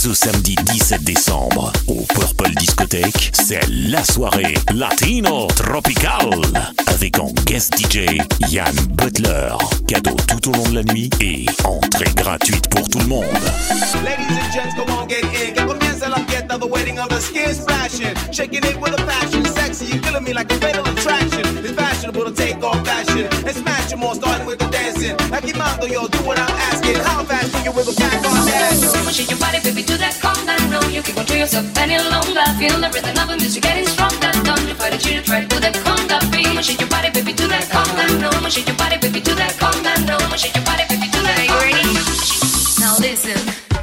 Ce samedi 17 décembre, au Purple Discothèque, c'est la soirée Latino Tropical avec en guest DJ Yann Butler. Cadeau tout au long de la nuit et entrée gratuite pour tout le monde. Ladies and gents, come on, get in. Que comienza la fiesta, the wedding of the skin splashing. Shaking it with a passion, sexy, you're killing me like a fatal attraction. It's fashionable to take off fashion and smash them all, starting with the dancing. Aquí mando, yo, do what I'm asking. How fast can you wiggle back on that? Shake your body, baby, to that conga. No, you can't control yourself any longer. Feel the rhythm of the music getting stronger. Don't you fight it, you try to do that conga beat. Shake your body, baby, to that conga. No, shake your body, baby, to that conga. No, shake your body, baby, to that. Are you ready? Now listen.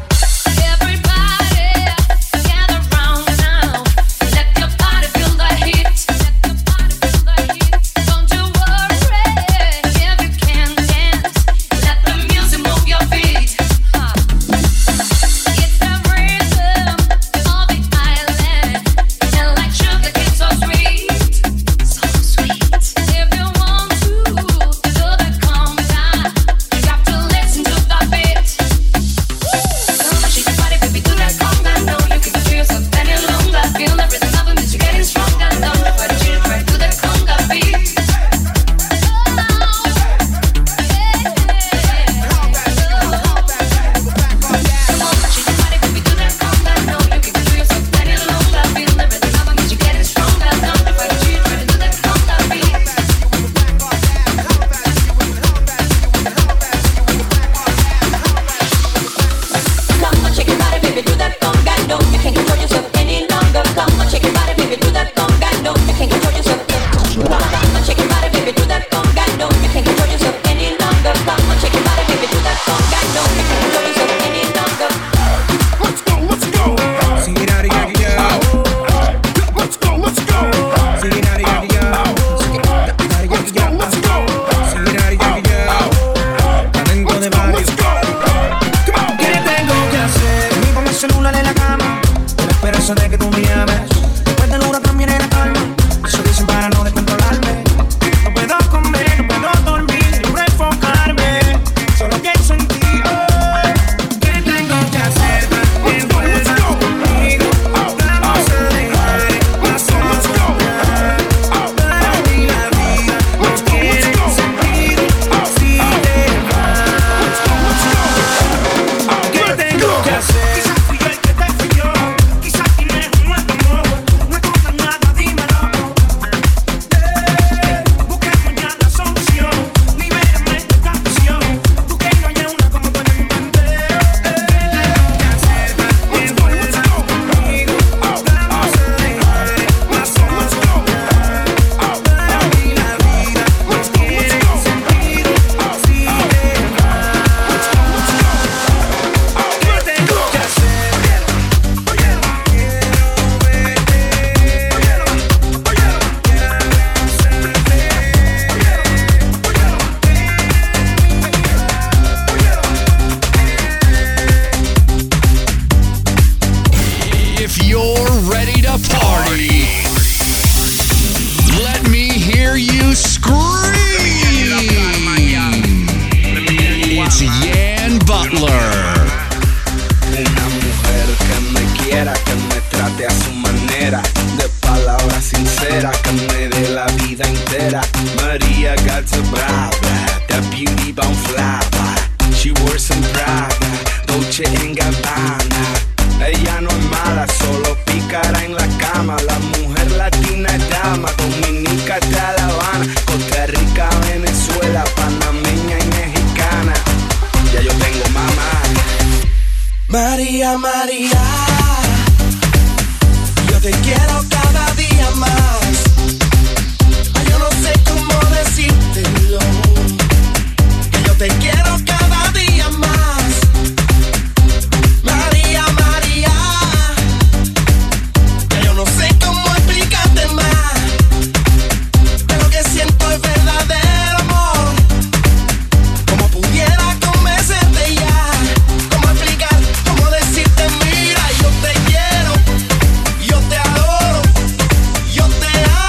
María, María, yo te quiero cada día más. Ay, yo no sé cómo decírtelo, que yo te quiero cada día más. María, María, que yo no sé cómo explicarte más, pero lo que siento es verdadero amor. Como pudiera convencerte ya, cómo explicar, cómo decirte mira, yo te quiero, yo te adoro, yo te amo.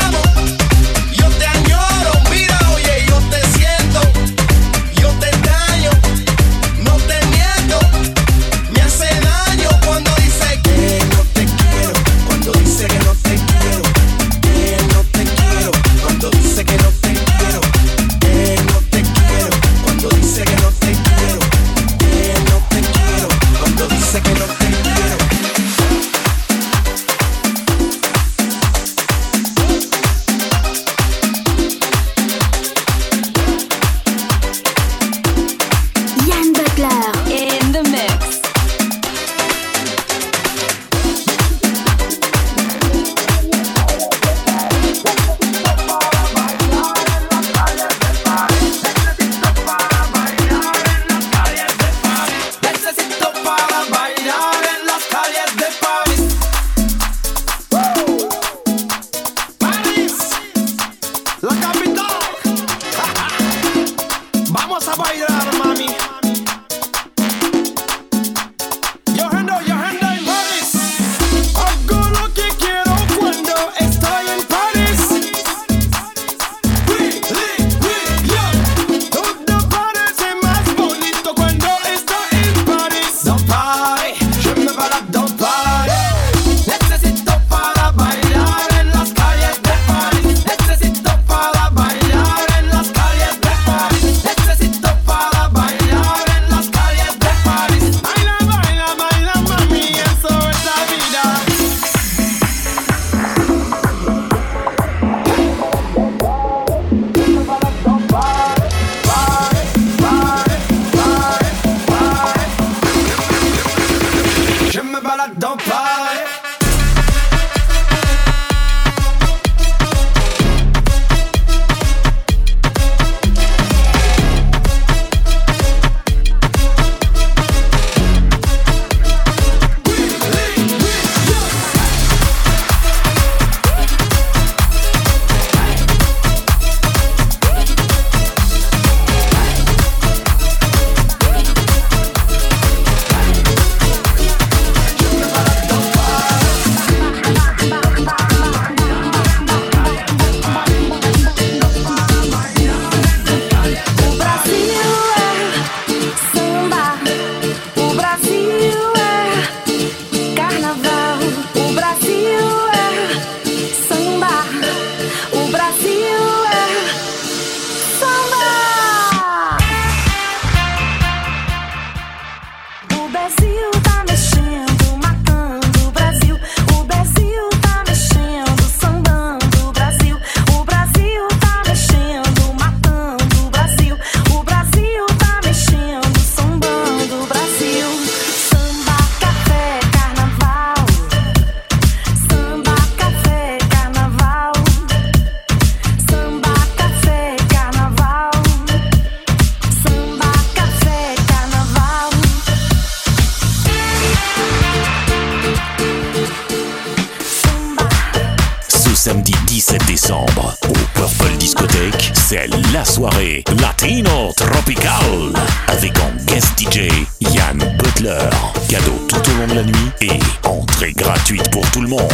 7 décembre, au Purple Discothèque, c'est la soirée Latino Tropical. Avec en guest DJ, Yann Butler. Cadeau tout au long de la nuit et entrée gratuite pour tout le monde.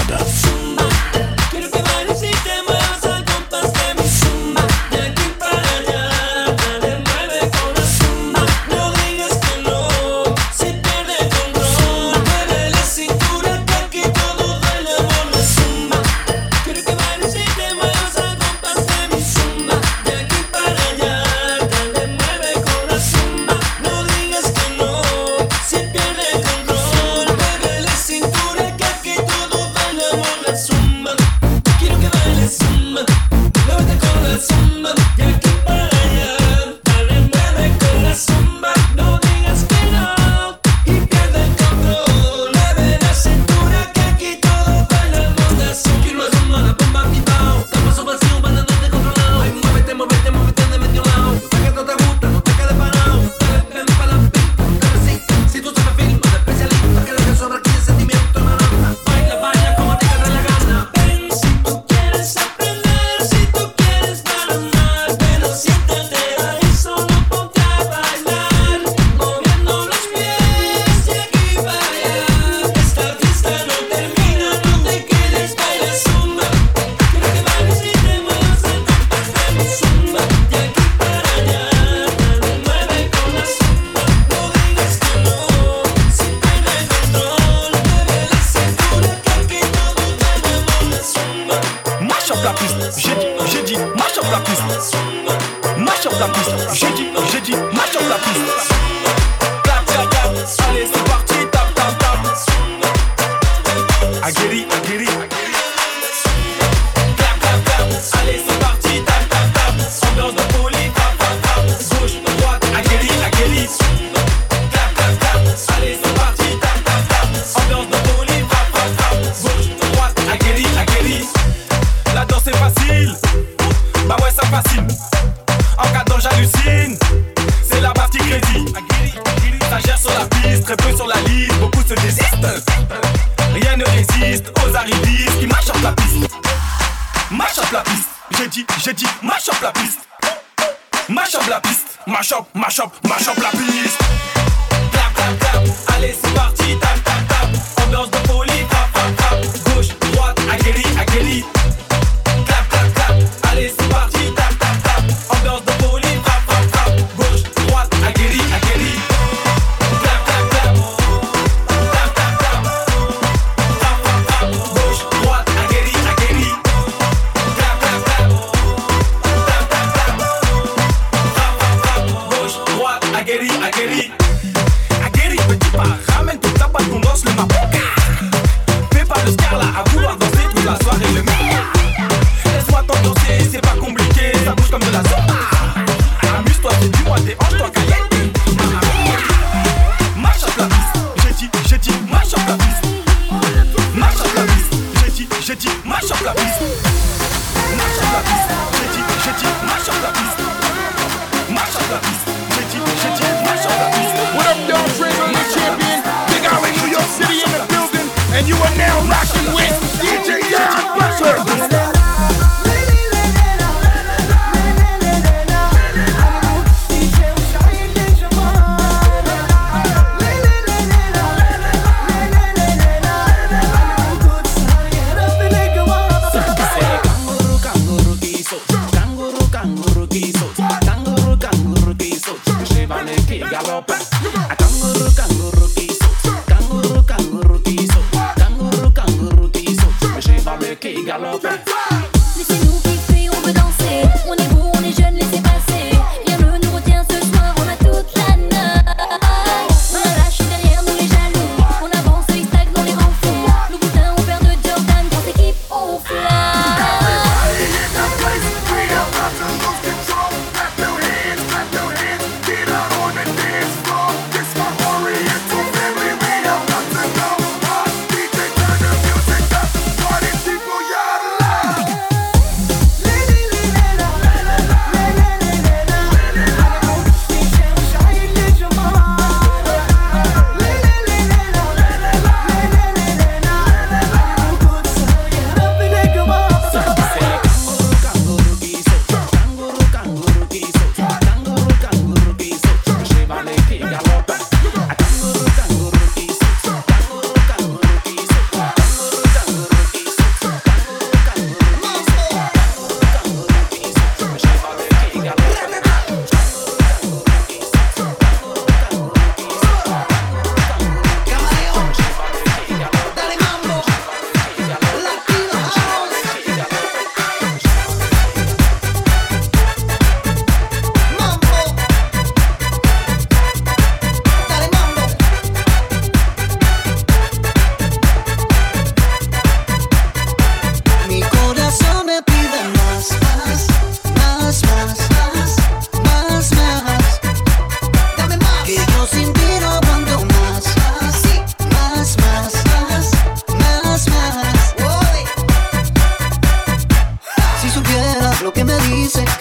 Ramène tout ça, pas de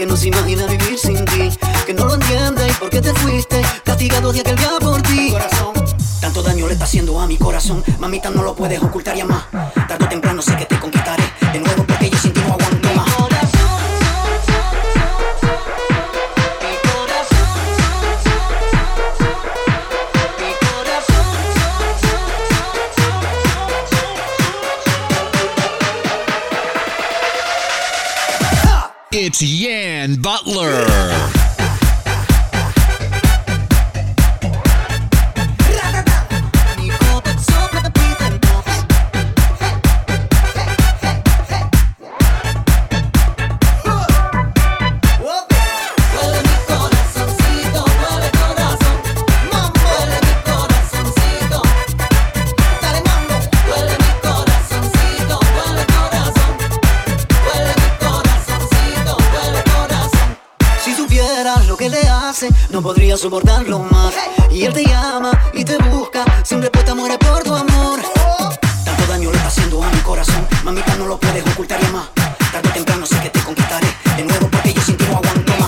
que no se imagina vivir sin ti, que no lo entiende y por qué te fuiste, castigado de aquel día por ti. Corazón, tanto daño le está haciendo a mi corazón, mamita no lo puedes ocultar ya más. Tarde o temprano sé que te conquistaré de nuevo porque yo sin ti no aguanto más. It's Yan Butler. No podría soportarlo más. Y él te llama y te busca, sin respuesta muere por tu amor. Tanto daño le está haciendo a mi corazón, mamita no lo puedes ocultar ya más. Tarde o temprano sé que te conquistaré de nuevo porque yo sin ti no aguanto más.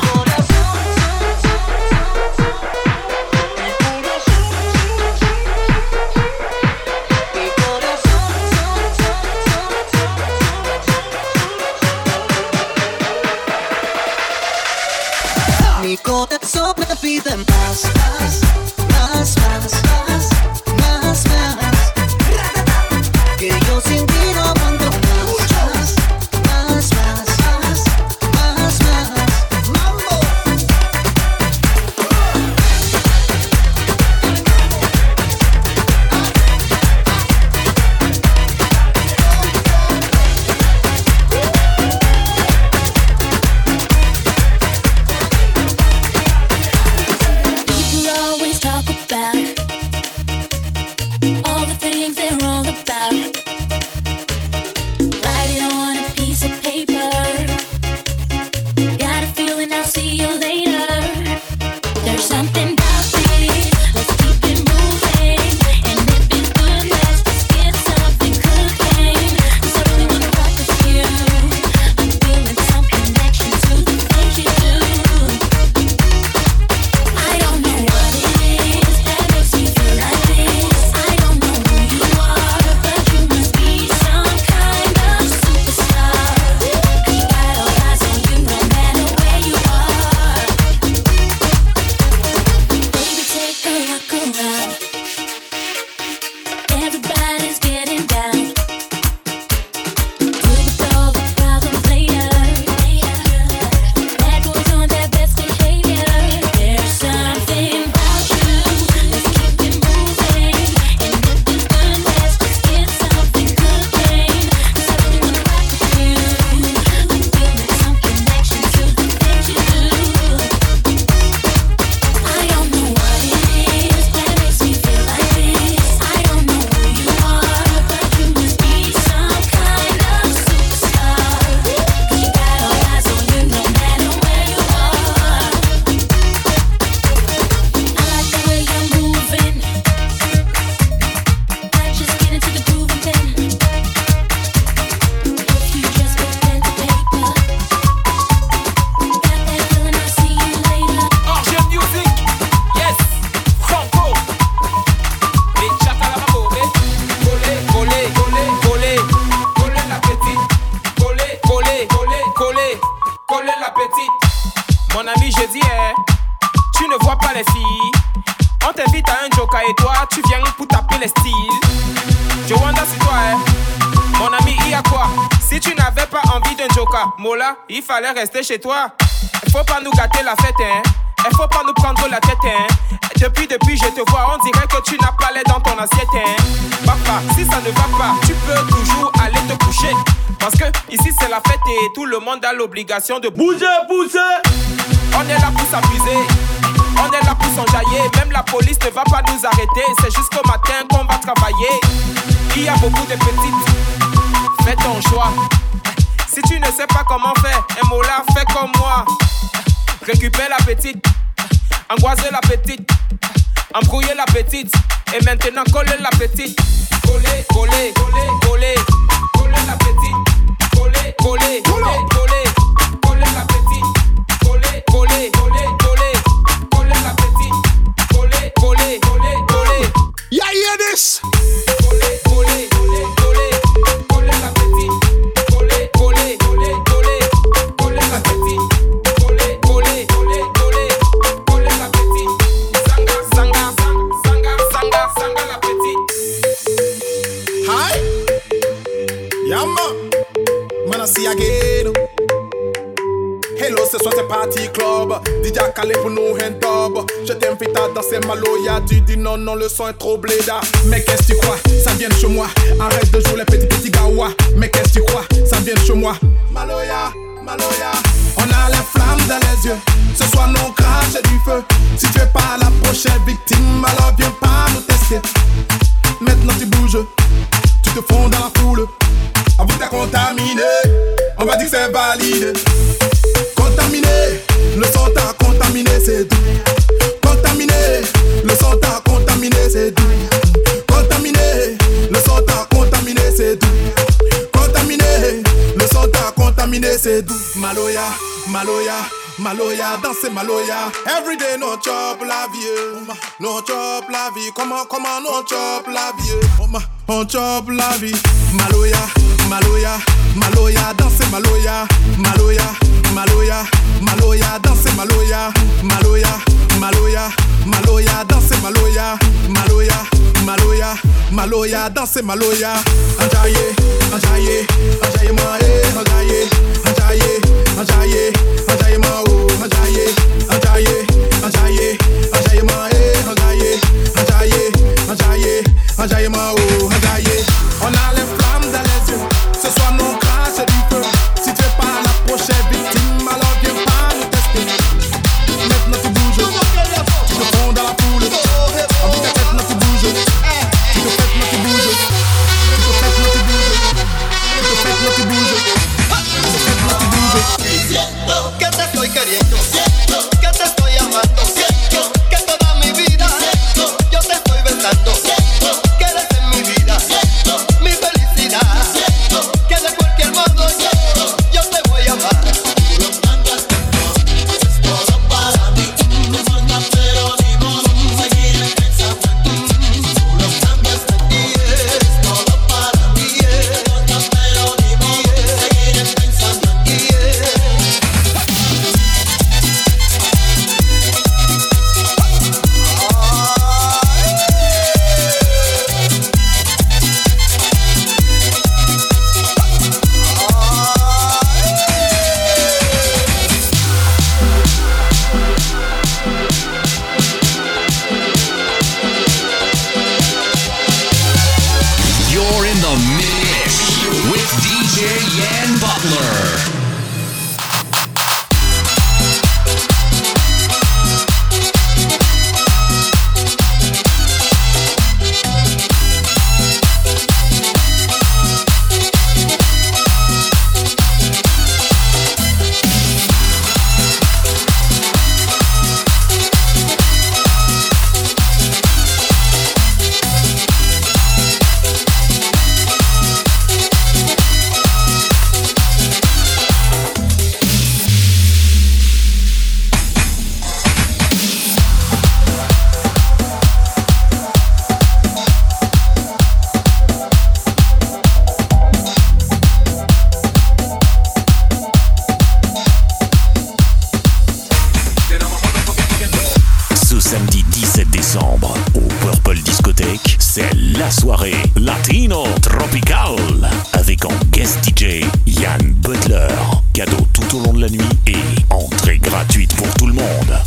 Mi corazón me pide más, más, más, más, más, más, más. Que yo sin ti no aguanto más, más, más, más, más, más. Mambo. Il fallait rester chez toi. Il faut pas nous gâter la fête, hein. Il faut pas nous prendre la tête, hein. Depuis je te vois, on dirait que tu n'as pas l'air dans ton assiette, hein. Papa, si ça ne va pas, tu peux toujours aller te coucher. Parce que ici c'est la fête et tout le monde a l'obligation de bouger, bouger. On est là pour s'amuser, on est là pour s'enjailler. Même la police ne va pas nous arrêter. C'est jusqu'au matin qu'on va travailler. Il y a beaucoup de petites. Fais ton choix. Si tu ne sais pas comment faire, un mot là, fais comme moi. Récupère la petite, angoisser la petite, embrouiller la petite. Et maintenant coller la petite. Coller, coller, coller, coller. Coller la petite. Coller, coller, coller, coller. Coller la petite. again. Hello, ce soir c'est party club. DJ a calé pour nous un dub. Je t'invite à danser Maloya. Tu dis non, non, le son est trop bléda. Mais qu'est-ce que tu crois, ça vient de chez moi. Arrête de jouer les petits gawa. Mais qu'est-ce que tu crois, ça vient de chez moi. Maloya, Maloya. On a les flammes dans les yeux. Ce soir nous crache du feu. Si tu es pas la prochaine victime, alors viens pas nous tester. Maintenant tu bouges, tu te fonds dans la foule. Avoue t'as contaminé, on va dire que c'est validé. Contaminé, le son t'a contaminé, c'est tout. Contaminé, le son t'a contaminé, c'est tout. Contaminé, le son t'a contaminé, c'est tout. Contaminé, le son t'a contaminé, c'est tout. Maloya, Maloya, Maloya, danser Maloya. Everyday no chop la vie, no chop la vie. Comment no chop la vie, on chop la vie. Maloya, Maloya, Maloya, danser Maloya. Maloya, Maloya, Maloya, danser Maloya. Maloya, Maloya, Maloya, danser Maloya. Maloya, Maloya, Maloya, danser Maloya. Anjaye, Anjaye, Anjaye moi, Anjaye, Anjaye, Anjaye, Anjaye moi, Anjaye, Anjaye, Anjaye, Anjaye moi, Anjaye, Anjaye, Anjaye, Anjaye moi, Anjaye. On a les flammes dans les yeux. Ce soir nous crache du feu. Si tu es pas la prochaine victime, alors viens pas nous tester. Maintenant tu bouges, tu te fonds dans la foule. En bout de tête, maintenant tu bouges. Tu te fais, maintenant tu bouges. Tu te fais, maintenant tu bouges. Tu te fais, maintenant tu bouges. Tu te fais, maintenant tu bouges. Siento que te estoy queriendo, siento que te estoy amando, siento que toda mi vida yo te estoy besando, siento que eres en mi vida, siento mi felicidad, siento que de cualquier modo yo te voy a amar. Tú lo cambiaste todo, es todo para mí, no falta pero ni modo, seguiré pensando en ti. Tú lo cambiaste y es todo para mí, no falta pero ni modo, seguiré pensando en ti. You're in the mix with DJ Yan Butler. Samedi 17 décembre au Purple Discothèque, c'est la soirée Latino Tropical avec en guest DJ Yan Butler. Cadeau tout au long de la nuit et entrée gratuite pour tout le monde.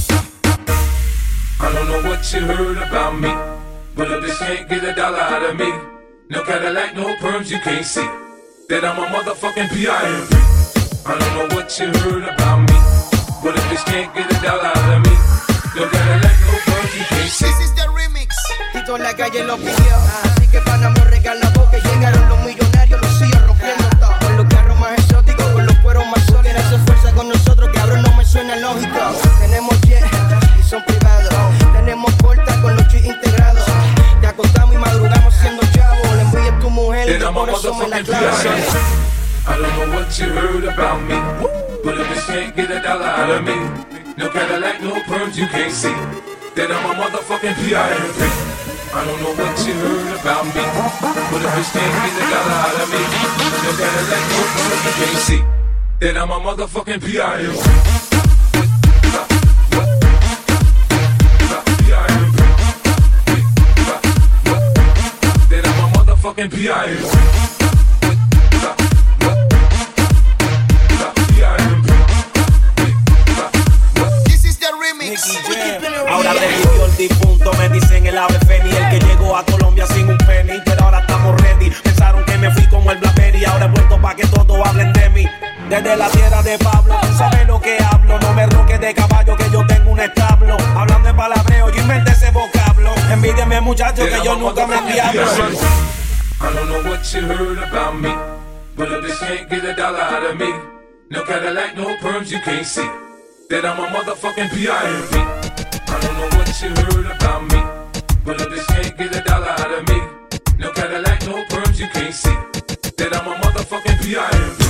I don't know what you heard about me, but a bitch can't get a dollar out of me. No Cadillac, no perms, you can't see that I'm a motherfucking P.I.M.P. I don't know what you heard about me, but a bitch can't get a dollar out of me. No Cadillac, no perms, you can't see. This is the remix. Tito en la calle lo pidió, así que Panamá regala boca. Llegaron los millonarios, los sigue rompiendo todo. Con los carros más exóticos, con los cueros más sólidos. Hace fuerza con nosotros, cabrón, no me suena lógico. Tenemos jet y son privados. Tenemos porta con los chips integrados. Te acostamos y madrugamos siendo chavos. Le envié a tu mujer y por eso me la clavo. I don't know what you heard about me, but a bitch can't get a dollar out of me. No Cadillac, no perms, you can't see that I'm a motherfucking P.I.M.P. I don't know what you heard about me, but a bitch can't get a dollar out of me. No Cadillac, no perms, you can't see that I'm a motherfucking P.I.M.P. That I'm a motherfucking P.I.M.P. muchacho que yo nunca me enviaba. I don't know what you heard about me, but a bitch can't get $1 out of me. No Cadillac, no perms, you can't see that I'm a motherfucking P.I.M.P. I don't know what you heard about me, but a bitch can't get $1 out of me. No Cadillac, no perms, you can't see that I'm a motherfucking P.I.M.P.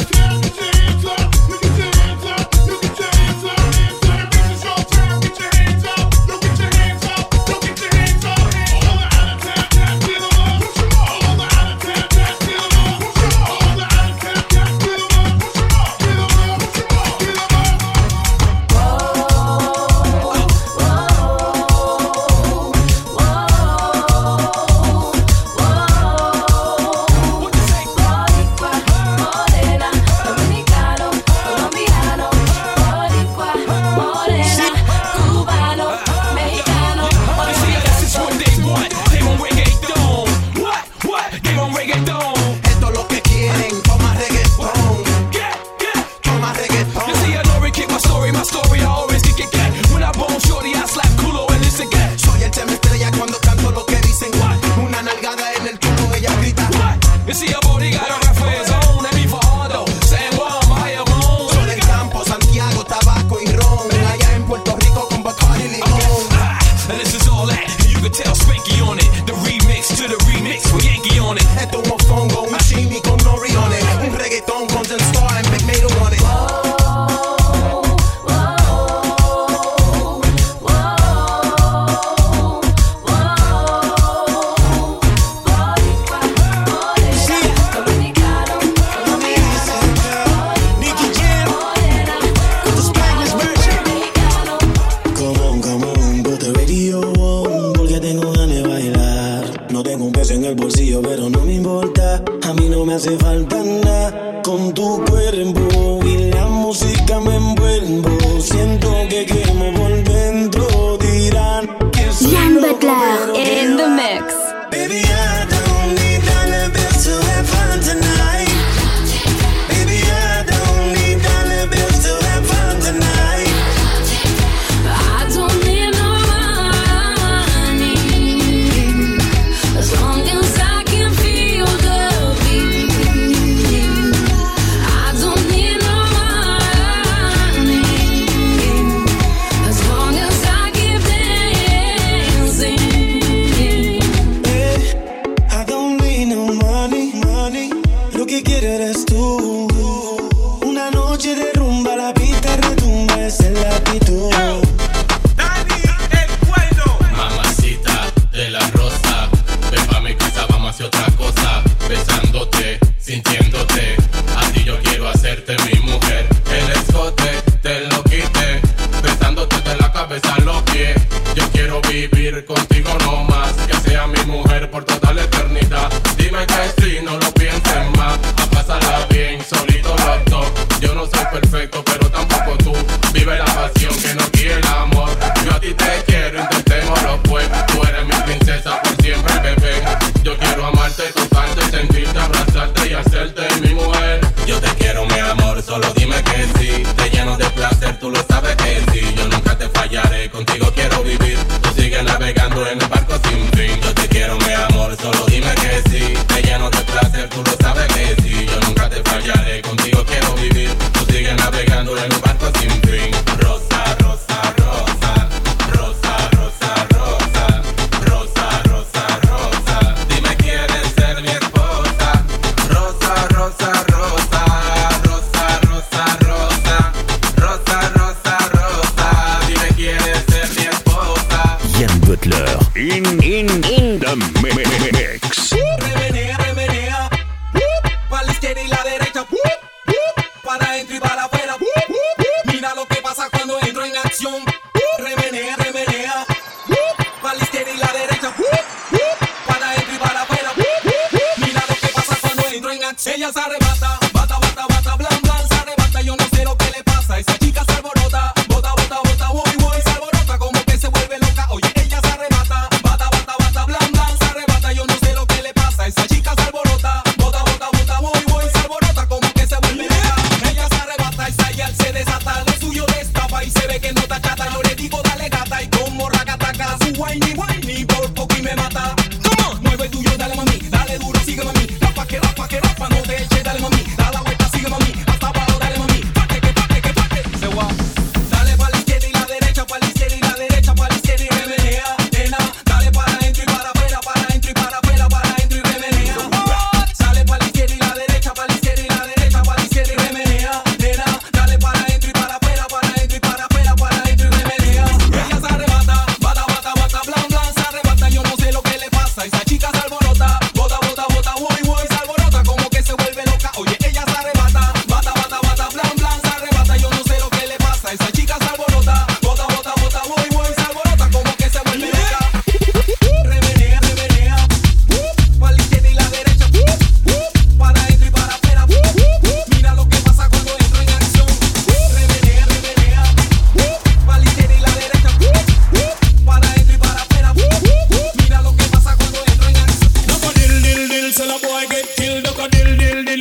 Ella se arrebata, bata, bata, bata, blan, blan, se arrebata. Yo no sé lo que le pasa. Esa chica se alborota, bota, bota, bota, voy, voy, se alborota como que se vuelve loca. Oye, ella se arrebata, bata, bata, bata, blan, blan, se arrebata. Yo no sé lo que le pasa. Esa chica se alborota, bota, bota, bota, voy, voy, se alborota como que se vuelve loca. Ella se arrebata, esa ya se desata, lo suyo destapa y se ve que no está chata. Yo le digo dale gata y como racataca, su whiny, whiny, por poco y me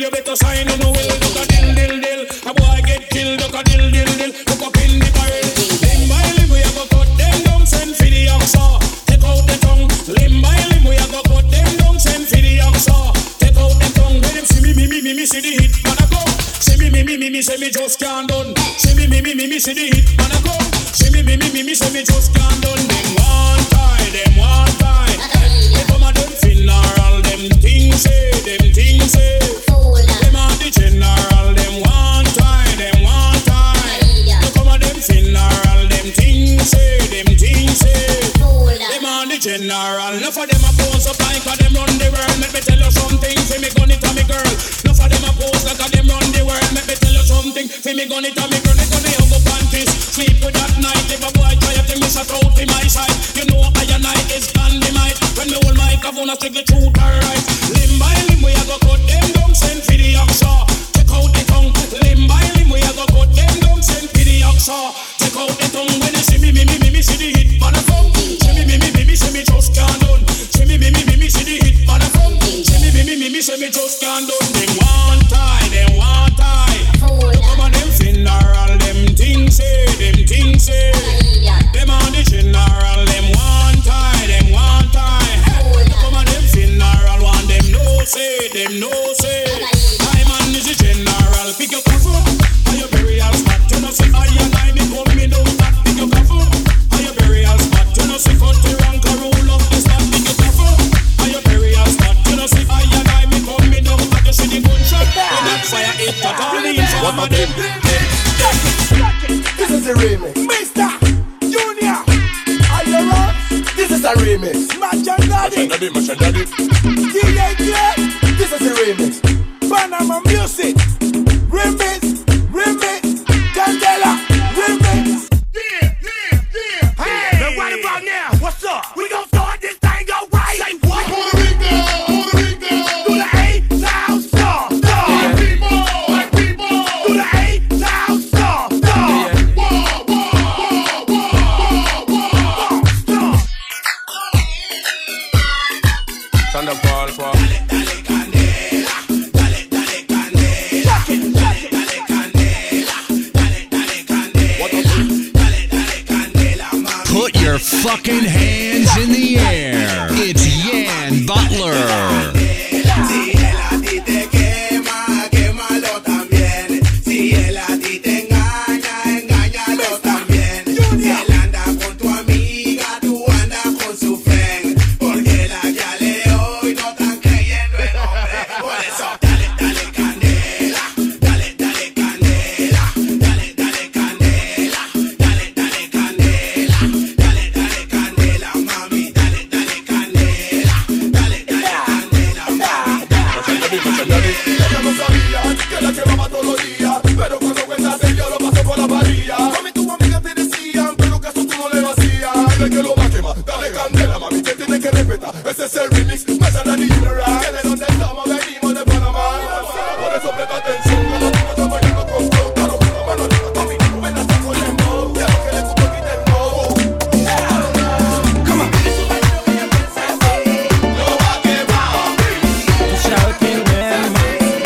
you better sign on the will. Look a dill, dill, dill. A boy get killed, look a dill, dill, dill. Look up in the barrel. Limb by limb, we a go cut them down, send for the oxa. Take out the tongue. Limb by limb, we a go cut them down, send for the oxa. Take out the tongue. Let them see me, see the hit, man a go. See me, say me just can't done. See me, see the hit, man a go. See me, say me just can't done. Them one tie, them one tie. They come a them funeral, them things say, them things say. Them a the general, them one tie, them one tie. They come a them funeral, them things say, them things say. Them a the general, enough of them a pose up like a them run the world. Let me tell you something, for me gun it a me girl. Enough of them a pose like a them run the world. Let me tell you something, for me gun it a me girl. They gonna hug up panties, sleep with that night. If a boy try to miss a throat in my side, you know I and I is dynamite. When me hold my microphone, I speak the truth, alright. Limb by limb, we a go cut them down, send for the oxa. Check out the tongue. Limb by limb, we a go cut them down, send for the oxa. Check out the tongue. When you see me, see the hit, man a come. See me, see me just can't done. See me, see the hit, man a come. See me, see me just can't done. Them one tie, them one tie. Come on, them funeral, them things say, them things say. Them on the general, them one tie, them one tie. Come on, them funeral, one them no say, them no say. I man is the general, pick your cover, are your burial spot. You know say I and I become me down that. Pick your cover, are your burial spot. You know say cut the rank and roll up the spot. Pick your cover, are your burial spot. You know say I and I become me down that. You see the gunshot, when that fire hit that all the inform of them. This is a remix. Mr. Junior, are you right? This is a remix. Machine Daddy. DJ Clay. This is a remix. Panama Music. Remix. Candela. Remix. Yeah. Hey, now what about now? What's up? We gon' start this thing go right. Say what? Puerto Rico. Do the A-Town star. Black people. Do the A-Town star. Thunder Paul, Paul. Dale candela, dale candela, dale candela, mami. Put your fucking hands in the air. It's Yan Butler. Si él a ti te quema, quémalo también. Si él a ti te engaña, engáñalo también. Si él anda con tu amiga, tú andas con su friend. Porque la ya le hoy no están creyendo en hombre. Por eso dale candela, dale candela, dale candela, dale candela, dale candela, mami, dale candela, dale candela, mami. Ella no sabía que la quemaba todos los días, pero cuando cuentas ella lo pasó por la varilla. Mami, tus amigas te decían, pero caso tú no le vacías. Dile que lo va a quemar, dale candela, mami, te tienes que respetar. Ese es el remix, más a la general. Que de donde estamos venimos de Panamá. Por eso presta atención, que la tipa está bailando con flow. Claro, la mano arriba, mami, ven hasta con el mo. Quiero que le guste y del mo. Come on. Lo va a quemar. Tú sabes quién es,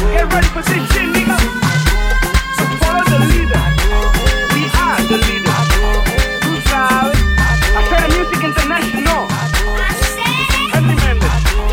Get ready for this shit, nigga. So follow the leader. We are the leader. Tú sabes. Hacer music international. Henry Mendes.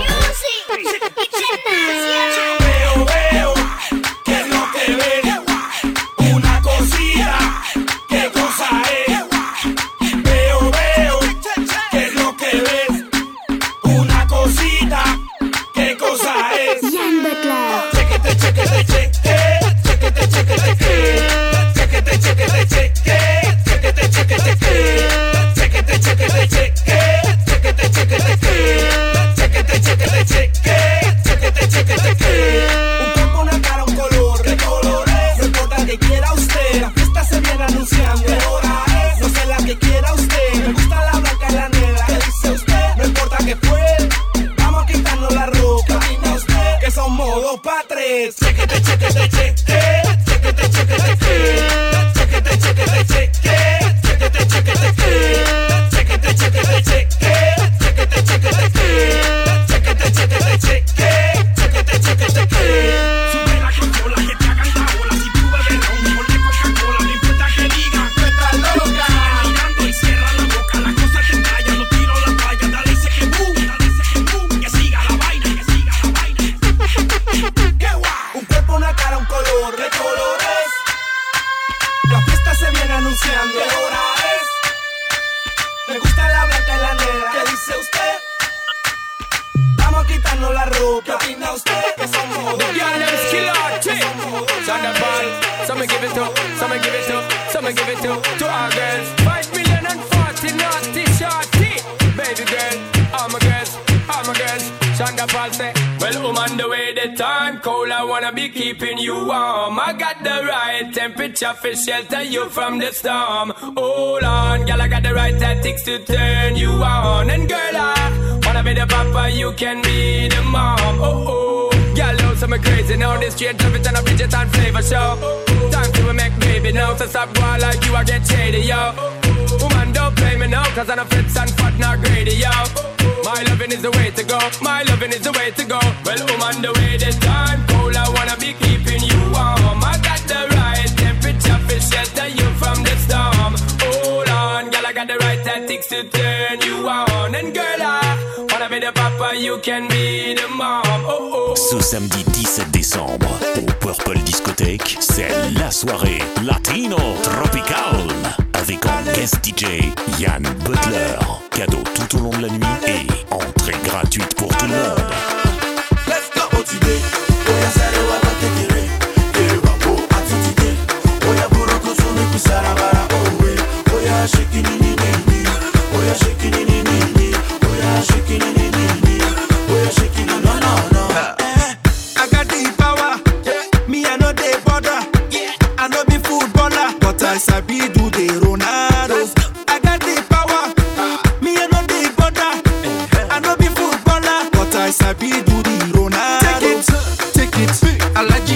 Veo, que es lo que ves. Una cosita, qué cosa es. Veo, que es lo que ves. Una cosita, qué cosa es. Jan Butler. Chequete, chequete, chequete. Chequete, chequete, chequete. Chequete, chequete, chequete. Chequete, chequete, chequete. Chequete, chequete, chequete. Chequete, chequete, chequete. Chequete, chequete, chequete. Chequete, chequete, chequete. Un cuerpo, una cara, un color, ¿qué color es? No importa que quiera usted, la fiesta se viene anunciando. ¿Qué hora es? No sé la que quiera usted. Me gusta la blanca y la negra. ¿Qué dice usted? No importa que fue. Vamos a quitarnos la ropa. Dime usted que somos dos pa' tres. Chequete, chequete, chequete. Chequete, chequete, chequete. Chequete, chequete, chequete. Chequete, chequete, chequete. Chequete, chequete, chequete. Chequete, chequete, chequete. Chequete, chequete, chequete. Chequete, chequete, chequete. Sube la consola que te hagan la bola. Si tú bebes ron, mejor de Coca-Cola. No importa que digan que estás loca. Sigue mirando y cierra la boca. Las cosas que callan, no tiro la toalla. Dale ese que boom, que siga la vaina, que siga la vaina. ¡Qué guay! Un cuerpo, una cara, un color, ¿qué color es? La fiesta se viene anunciando. ¿Qué hora es? Me gusta la blanca y la negra. ¿Qué dice usted? Vamos a quitarnos la ropa. ¿Qué opina usted? Que somos dos. Y'all them skill artists. Thunderball. Some give it up, some give it up, some give it up to our girls. 5,040 naughty shorty. Baby girl, all my girls, all my girls. Thunderball say, well, on the way the time cold, I wanna be keeping you warm. I got the right temperature for shelter you from the storm. Hold on, girl, I got the right tactics to turn you on. And girl, I wanna be the papa, you can be the mom. Oh, oh. Girl, know some crazy now. This straight love it and a Bridget and flavor show. Time to make baby now. So stop going like you, I get shady, yo. Woman, don't play me now, cause I'm a fits and fat, not greedy, yo. My loving is the way to go. My loving is the way to go. Well, woman, the way the time cold, I wanna be keeping you warm. I got the right temperature for shelter you from the storm. Hold on, girl, I got the right tactics to turn you on. And girl, I wanna be the papa, you can be the mom. Oh, oh. Ce samedi 17 décembre, au Purple Discothèque, c'est la soirée Latino Tropical. Avec en guest DJ Jan Butler. Cadeau tout au long de la nuit et entrée gratuite pour tout le monde. Let's go. Otude, oya sare wa bakekere. Kere babo atutide. Oya buroko sume kusarabara owe. Oya shake ni ni ni. Oya shake ni ni ni. Oya shake ni ni ni. Oya shake ni no no no. I got the power. Me I know the border. I know be footballer, but I sabi do the Ronaldo. I got the power. Me I know the border. I know be footballer, but I sabi do the Ronaldo. Take it, Alaji.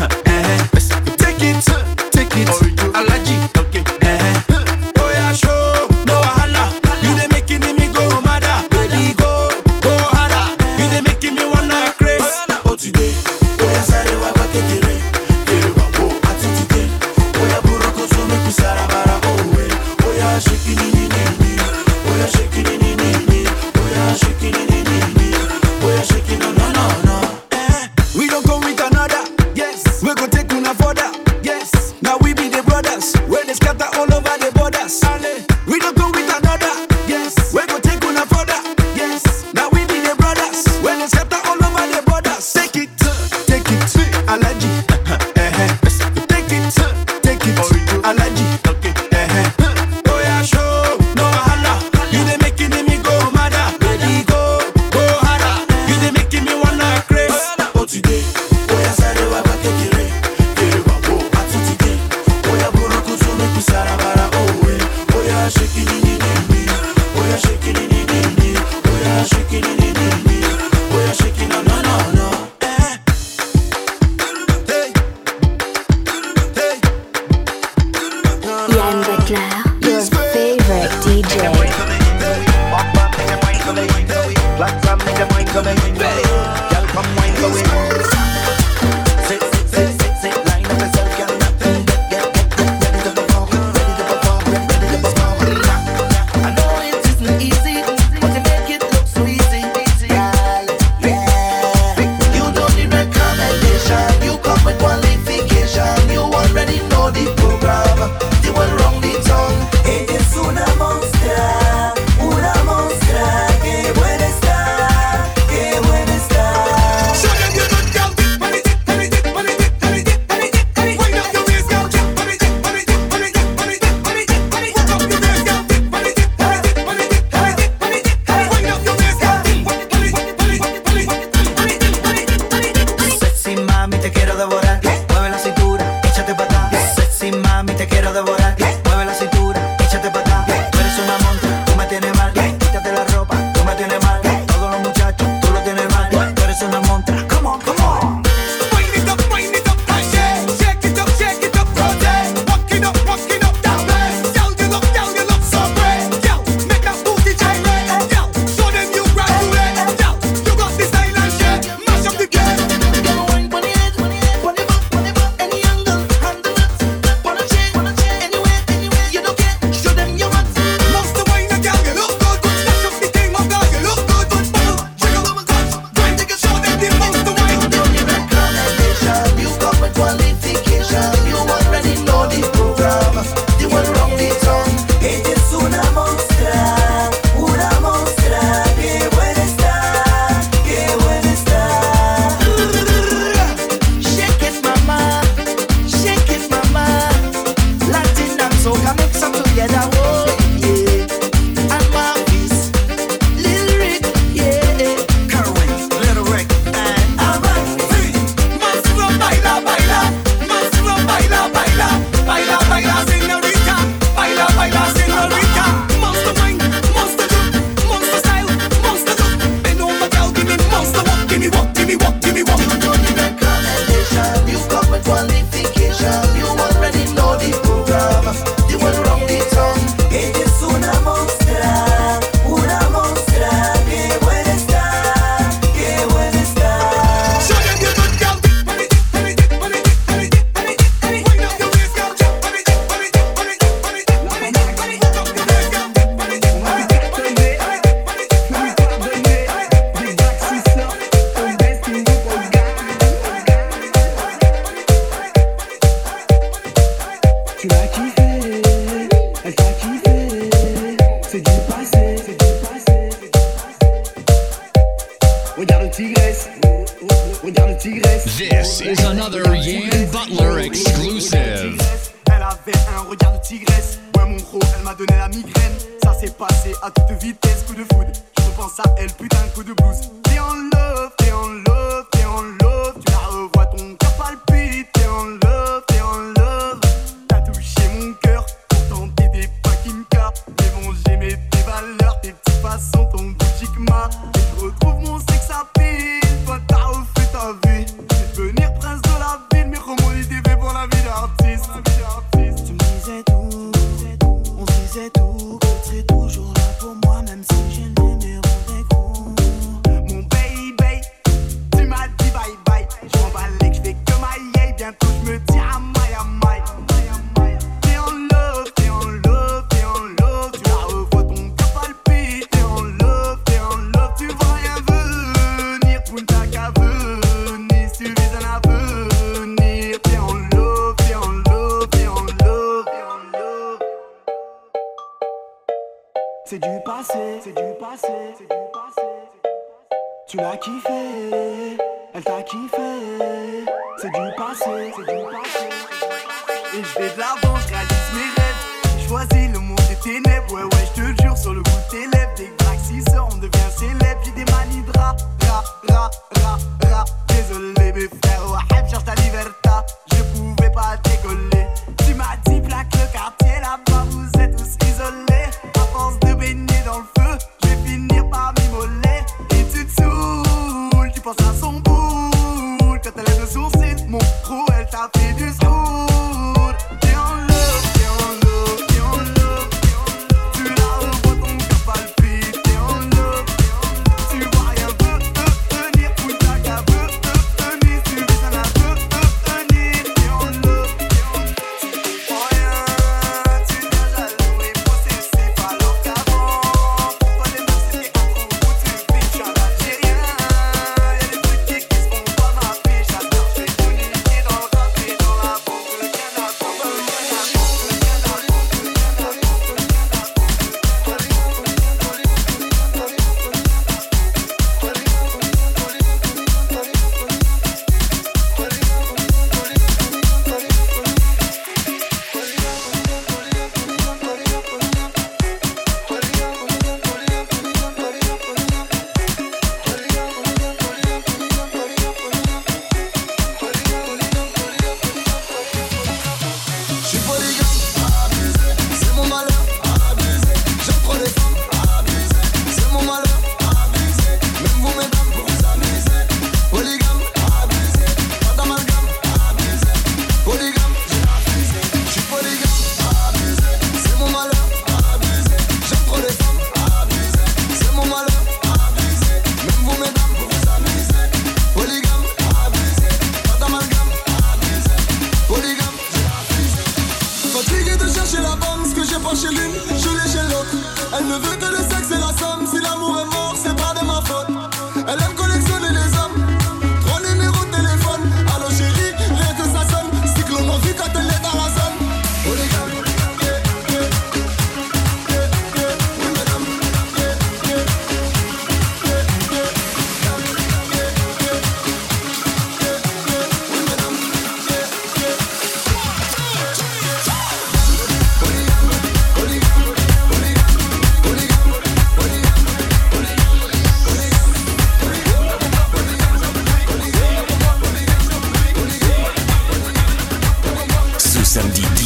Take it, Alaji. Oh yeah, show no wahala. You dey making me go mad, baby go harder. You dey making me wanna craze. Oh today, oh yeah, sorry wa bakekere. Kere babo atutide. Oh yeah, buroko sume kusarabara owe. Oh yeah, shake it ni ni ni. Oh yeah, shake it ni ni ni. Oh yeah, shake it ni ni ni. Oh yeah, shake it no no no no. We don't come with another. Yes, we gon' take una further. Yes, now we be the brothers. When they scatter all over the borders. We don't come with another. Yes, we gon' take una further. Yes, now we be the brothers. When they scatter all over the borders. Take it, Alaji. quiero devorar. Mueve la cintura, échate para atrás. Sexy mami, te quiero devorar. Mueve la cintura, échate para atrás. Tú eres una montra, tú me tienes mal. Quítate la ropa, tú me tienes mal. Todos los muchachos, tú lo tienes mal. Tú eres una montra, come on, come on. Wind it up, shake it up, rotate. Walking up, that way. Girl, you look so great. Girl, make that booty gyrate. Girl, show them you graduate. Girl, you got the style and shit. Mash up the game. Wine on the head, on the back, any angle, handle it. Wanna change, anywhere, you don't care. Show them your hands. Monster wine, girl, you look good. Dash up the thing, oh girl, you look good. Bubble, jiggle, grind, take a show them the monster wine. You come with qualification. You already know the program. You will rock the song. Ella es una monstra, qué buena está, qué buena está. Shake it, mama. Latin and soca mix up together. Oh, yeah. And Marvis, Lil Rick, yeah. Current, Little Rick, and Avanti, monstruo, baila, baila. Monstruo, baila, baila. Baila, baila, señorita. Baila, baila, señorita. Monster wine, monster look, monster style, monster look. Bend over, girl, give me monster walk, give me walk, give me walk, give me walk. You don't need recommendation. You come with qualification. You already know the program. You will rock the song. ella es una monstra, qué buena está, qué buena está. Show them your good girl. Wind up your waist, girl. Wind up your waist, girl. Tu l'as kiffé, elle t'a kiffé, c'est du passé, Regarde le tigresse, This is another Yan Butler exclusive. Elle avait un regard de tigresse. Ouais mon gros, elle m'a donné la migraine. Ça s'est passé à toute vitesse, coup de foudre. Je repense à elle, putain, coup de blues. T'es en love, tu la revois, ton cœur palpite. T'es en love. T'as touché mon cœur, pourtant t'étais pas Kimka. Mais bon, j'aimais tes valeurs, tes petites façons, ton boutique m'a. Et je retrouve mon sex appeal. Toi t'as refait ta vie. Je vais devenir prince de la ville, mais comment il était fait pour la vie d'artiste. Tu me disais tout, on se disait tout. Que tu serais toujours là pour moi, même si j'ai le numéro des coups. Mon baby, tu m'as dit bye bye. Je m'emballais que je fais que ma yay. Bientôt je me dis à my. T'es en love. Tu la revois, ton cœur palpite. T'es en love. Tu vois rien venir. Punta qu'à venir. Si tu vis un avenir. T'es en love. C'est du passé, Tu l'as kiffé, elle t'a kiffé, c'est du passé, Et je vais de l'avant, je réalise mes rêves. J'ai choisi le monde des ténèbres. Ouais, je te jure, sur le bout de tes lèvres. Des graxisseurs, on devient célèbre. J'ai des manies de rap. Désolé mes frères, Wahab cherche ta libertà. Je pouvais pas décoller. Tu m'as dit plaque le quartier là-bas, vous êtes tous isolés. À force de baigner dans le feu, je vais finir par m'immoler. Et tu te saoules, tu penses à son boule. Quand elle lève le sourcil, mon pro, elle t'a fait du school. T'es en love. Tu la revois, ton cœur palpite. T'es en love. Tu vois rien venir, Punta qu'à venir. Tu vis un avenir. T'es en love. Tu comprends rien, tu deviens jaloux et possessif alors qu'avant, pour toi les meufs c'était un trou où tu vis. J'suis un Algérien, y'a des trucs qui se font pas ma vie. J'adore, j'fais tout niquer dans le rap et dans la boucle.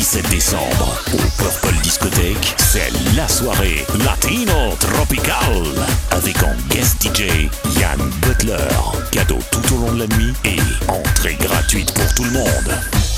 17 décembre, au Purple Discothèque, c'est la soirée Latino Tropical, avec en guest DJ Yann Butler. Cadeau tout au long de la nuit et entrée gratuite pour tout le monde.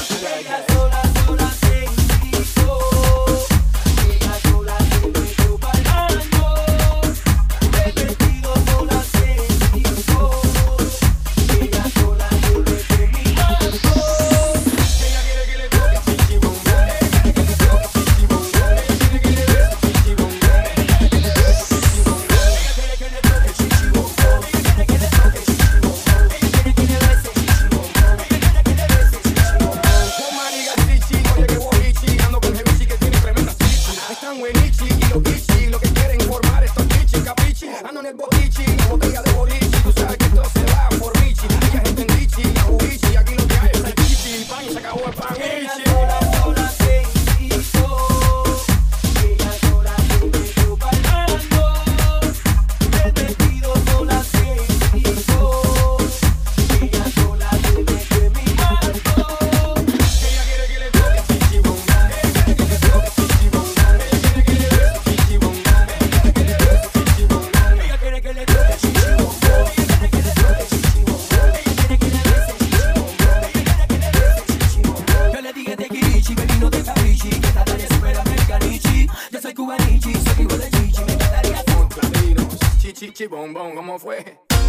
Bombón, ¿cómo fue?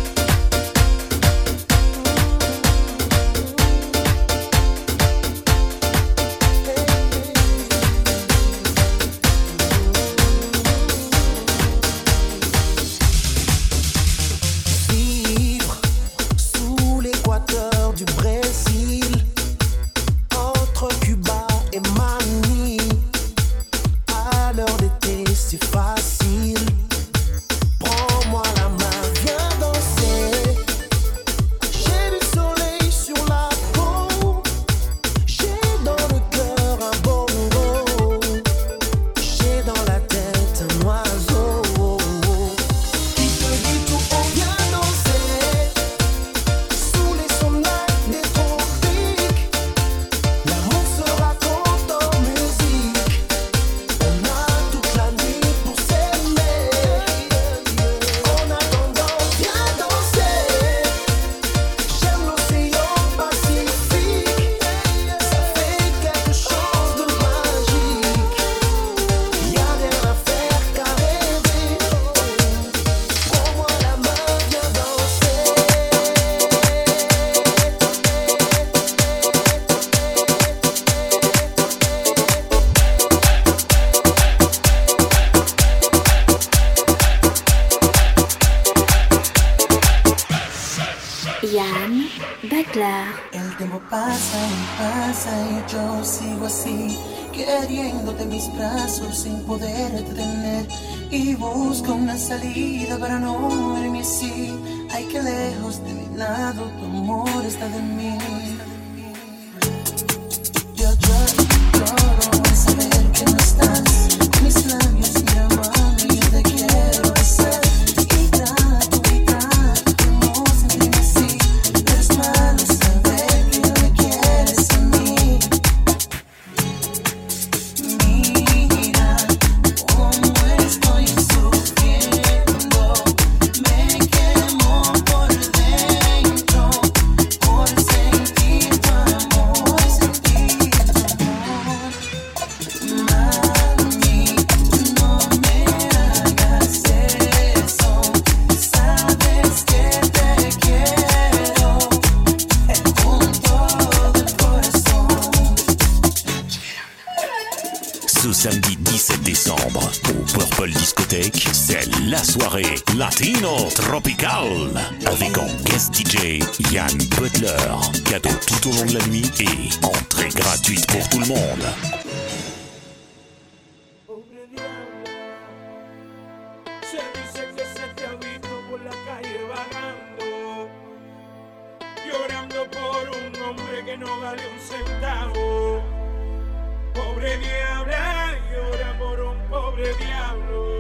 Vivre sous l'équateur du Brésil, entre Cuba et Manille, à l'heure d'été c'est facile. Prends-moi la main, viens danser. J'ai du soleil sur la peau, j'ai dans le cœur un bongo, j'ai dans la tête un oiseau qui te dit tout haut, viens danser. Sous les sonates des tropiques, l'amour se raconte en musique. On a toute la nuit pour s'aimer. En attendant, viens danser. J'aime l'océan Pacifique, ça fait quelque chose de magique. Y'a rien à faire qu'à rêver. Prends-moi la main, viens danser. Yann Butler. El tiempo pasa y yo sigo así, queriéndote en mis brazos sin poder detener. Y busco una salida para no verme así. Ay, que lejos de mi lado tu amor está de mí. Yo lloro al saber que no estás. Mis labios me llaman y yo te quiero besar. Y trato de no sentirme así, pero es malo saber que no me quieres a mí. Mira cómo estoy sufriendo, me quemo por dentro por sentir tu amor, sentir tu amor. Mami, no me hagas eso, sabes que te quiero con todo el corazón. Ce samedi 17 décembre, au Purple Discothèque, c'est la soirée Latino Tropical, avec en guest DJ Yann Butler. Cadeau tout au long de la nuit et entrée gratuite pour tout le monde. Se dice que se te ha visto por la calle vagando, llorando por un hombre que no vale un centavo. Pobre diabla, llora por un pobre diablo.